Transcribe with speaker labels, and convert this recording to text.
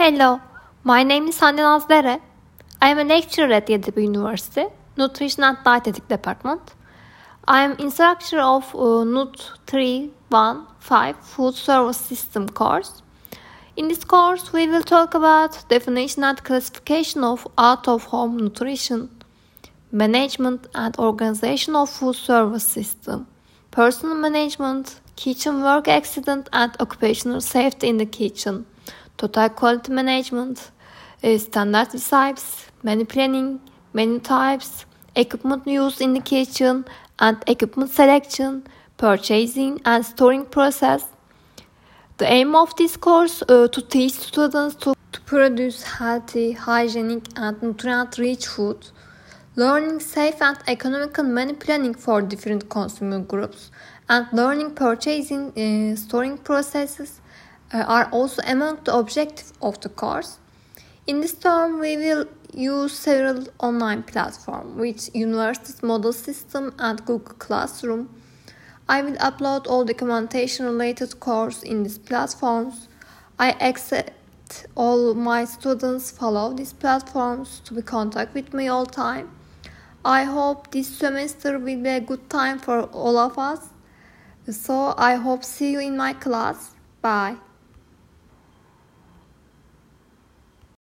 Speaker 1: Hello, my name is Hande Nazlere. I am a lecturer at Yeditepe University, Nutrition and Dietetic Department. I am instructor of NUT 315 Food Service System course. In this course, we will talk about definition and classification of out-of-home nutrition, management and organization of food service system, personal management, kitchen work accident and occupational safety in the kitchen, total quality management, standard recipes, menu planning, menu types, equipment used in the kitchen and equipment selection, purchasing and storing process. The aim of this course to teach students to produce healthy, hygienic and nutrient-rich food, learning safe and economical menu planning for different consumer groups, and learning purchasing storing processes are also among the objectives of the course. In this term, we will use several online platforms, which University's Moodle System and Google Classroom. I will upload all documentation related course in these platforms. I expect all my students follow these platforms to be in contact with me all time. I hope this semester will be a good time for all of us. So I hope see you in my class. Bye.